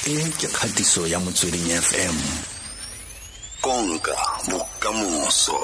ke kgatiso ya Motsweding FM. Konka bokamoso.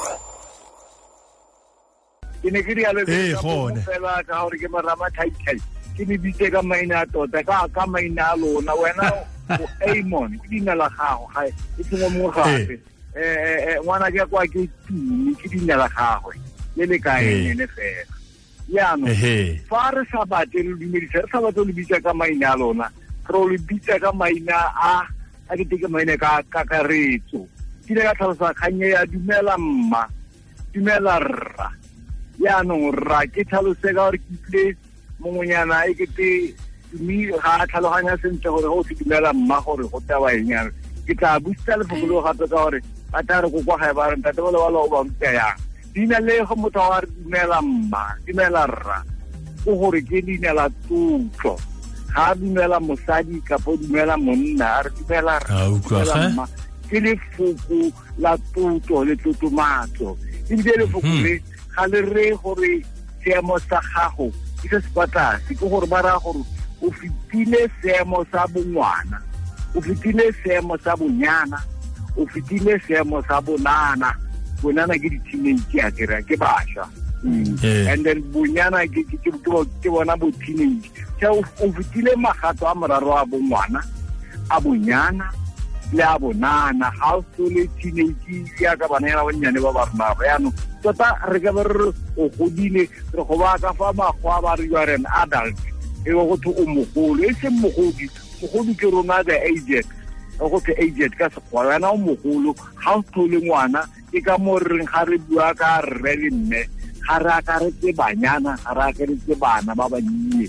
Ke ne ke rialo fela ka hore ke marama title ke di bitse ka maina tota ka maina lona wena o Amon ke dina la gago ga e tsengwa mo gape ngwana ke kwa ke tumi ke dina la gago le kae ne fela ya no fa re sa batle le dumedisa re sa batle le bitsa ka maina lona ro le bitsa ka maina a ke tike maina ka kakaretso ke le ka tlhalosa khanye ya dumela mma dumela rra ya no rra ke tlhalose ka gore ke tle mongonyana e ke te mi ga tlhaloganya sentle gore go se dumela mma gore go taba enyana ke tla booster le fokolo gape ka gore ba tla re go kwa ga ba re ntate ba lo ba mtya yang dina le go motho wa dumela mma dumela rra go gore ke dina la tutlo ga dumela mosadi ka po dumela monna re dumela rra ke le fuku la tutlo le tutumatso e le fuku le ga le re gore seemo sa gago ke se spata ke gore ba ra gore o fitile seemo sa bongwana o fitile seemo sa bonyana o fitile seemo sa bonana ke di-teenage ya ke basha and then bonyana ke bona bo teenage so o fitile magato a moraro a bongwana a bonyana le a bonana ha o le teenage ya ka bana ya bonyane ba ba rona ba yano tota re ka ba re o godile re go ba ka fa magwa ba re you are an adult e go to o mogolo e se mogodi ke rona the aged go te aged ka se gwana o mogolo ha o tlole ngwana ke ka mo reng ga re bua ka re le mme ga ra ka re tse banyana ga ra ka re tse bana ba bannye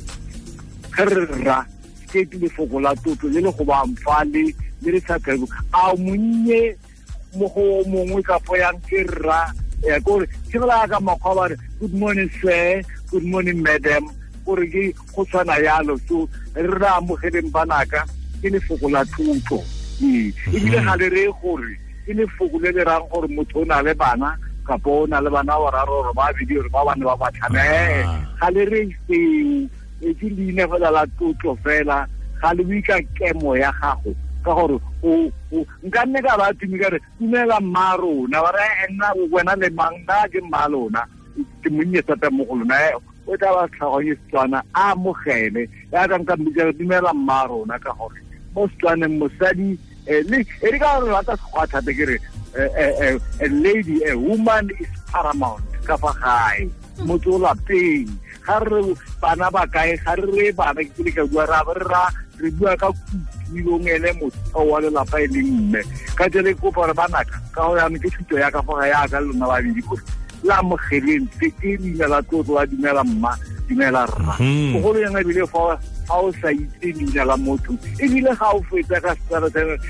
gerra ke le fokola tutlo le go ba mfale le re sa ka a monnye mo go mongwe ka fo yang ke rra ya gore ke la ka makgwa ba re good morning sir good morning madam gore ke go tsana yalo so re ra mo geleng banaka ke le fokola tutlo e bile ga le re gore ke le fokole le rang gore motho o na le bana ka bona le bana wa raro ba video ba bana ba batlhame ga le re seo e ke line fela la tutlo fela ga le wika kemo ya gago ka gore o nka nne ka ba tumi ka re dumela mmarona ba re nna wena le manga ke mmalona ke monnye thata mo go lona o tla ba tlhaganye Setswana a mogele ya ka nka mbitsa dumela mmarona ka gore mo Setswaneng mosadi le e re ka re rata go thata ke re a lady a woman is paramount ka fa gae motho la peng ga re bana ba kae ga re bana ke le ka bua re bua ka kutlwilong ele motho wa le lapa e leng mme ka jele ko gore banaka ka go ya ke thuto ya ka fa ya ka lona ba di ko la mogeleng ke dina la tlotlo wa dumela mma dumela rra go le yana bile fa o sa itse dina la motho e bile ga o fetsa ka stara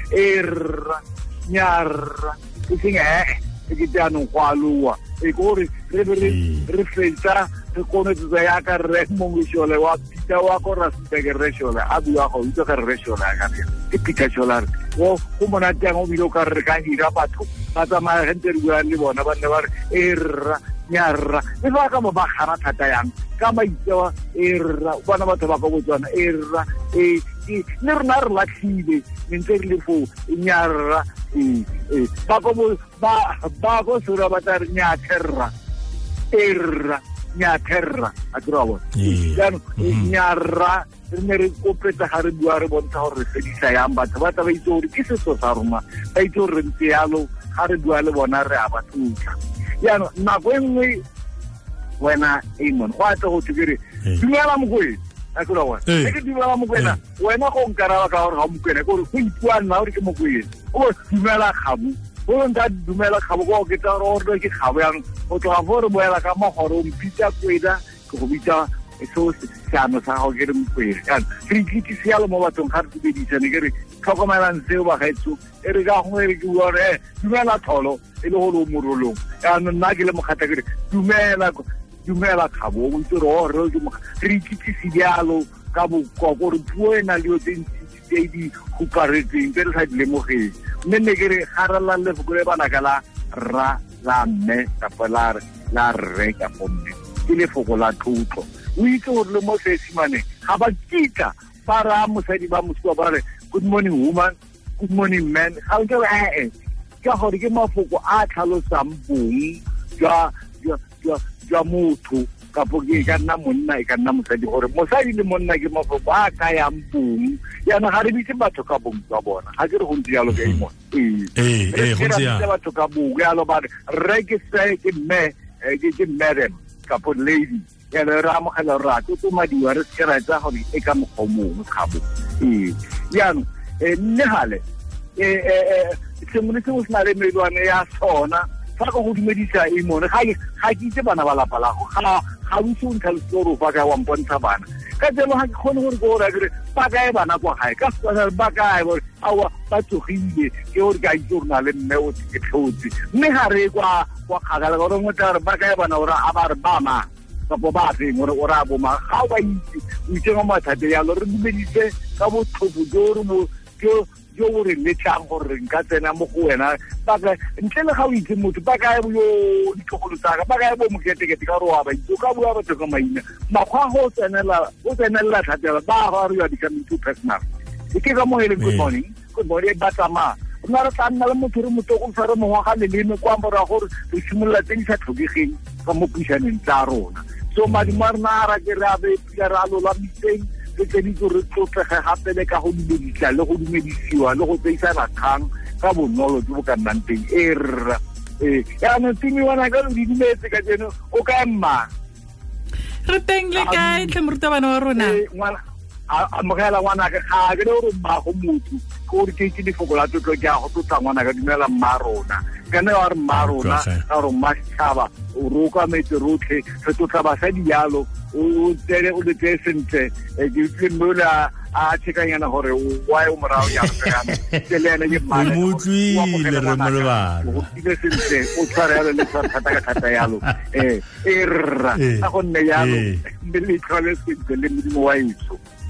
rra nyarra ke ke tsano kwalwa e gore re fetsa re kone tsa ya ka re mongwe shole wa pita wa ko ra se re shole a bua go itse ka re shole ka ke pita sholar go mona teng o bile ka re ka dira batho ba tsamaya hente re bua le bona ba ne ba re rra nyarra e ba ka mo ba gana thata yang ka maitsewa rra bona batho ba go botswana rra ne rena re latlhile ntse re le fo nyarra ba go sura ba tsa re nyatherra rra nyatherra a tswa ya nyarra re ne re kopetsa ga re bua re bontsha gore re fedisa yang batho ba tla ba itse gore ke setso sa rona ba itse gore re ntse yalo ga re bua le bona re a ba tlotla ya nako engwe wena Amon go a tlo go tsere dumela mokwena a tswa wa ke dumela mokwena wena go nkaraba ka gore ga mokwena gore go ipua nna gore ke mokwena o dumela gabu o nda dumela gabu go ke tsa gore ke gabu yang o tla gore boela ka mogoro o mpitsa kweda go bitsa so siano sa go ke re mokwena re ke sialo mo bathong ga re tshedisa ne ke re tlhokomelang seo ba gaetso e re ka go re ke bua re dumela tholo e le go lo morolong ya nna ke le mogata ke re dumela khabo o itse re re ikitse dialo ka bo go re puo ena le tse di huparetseng tse re sa di lemogeng mme ke re garala le go le bana ka la ra la mme ka pala la re ka pombe ke le foko la tlotlo o itse gore le mo sesimane ga ba kitla ba ra mosadi ba moswa ba re good morning woman, good morning man, ga o ke ka gore ke mafoko a tlhalosang bong jwa motho kapo ke ka nna monna e ka nna mosadi gore mosadi le monna ke mafoko a kayang bong yana ga re bitse batho ka bong tsa bona ga ke re go ntse yalo ke imo go ntse ya batho ka bong yalo ba re ke se ke madam kapo lady ya le ra mo gela ra to madiwa re se ra tsa gore e ka mogomong khabo yana nne hale semone se o sna le medwane ya sona fa go dumedisa imone ga ke itse bana ba lapa la go ga o se o ntlha story fa ka wa mpontsha bana ka tselo ga ke khone gore go ra dire ba kae bana kwa gae ka se ba kae gore awa ba tsogile ke gore ka itse gore na le mme o ke tlhotse mme ga re kwa kgakala gore mo tla re ba kae bana ora a ba re ba ma kapo ba teng gore o ra bo ma ga o ba itse mo mathate ya lo re dumedise ka bo tlhopo jo o re letlang gore nka tsena mo go wena baka ntle le ga o itse motho ba kae yo ditlogolo tsaka ba kae bo moketekete ka roa ba itse ka bua batho ka maina makgwa go tsenela thatela ba ga re ya becoming too personal ke ka mo ele good morning ba tsama nna re tla nna le motho re motoko sa re mongwa ga leleme kwa mbora gore re simolola tse di sa tlhokegeng ka mo puisaneng tsa rona so madimarna ra ke ra be ra lola mitseng ke di go re tlotlege gape le ka go dumedisa le go dumedisiwa le go tseisana kgang ka bonolo jo bo ka nnang teng ya no timi wana ka di dumetse ka jeno o ka emma re teng le kae tle morutabana wa rona a mogela ngwana ka ga ke re ba go motho go re ke di fokola tlotlo ke a go tlotla ngwana ka dumela mmarona kana wa re mmarona ka re mashaba o roka metse rotlhe re tlotla ba sa dialo o tsere o le tsentse ke tlemela a tshekanyana gore wa o morao ya tsena tselena ke mane motlwile re molebana o ile sentse o tshwara le thata yalo rra a go nne yalo le tlhole se le mo wa itso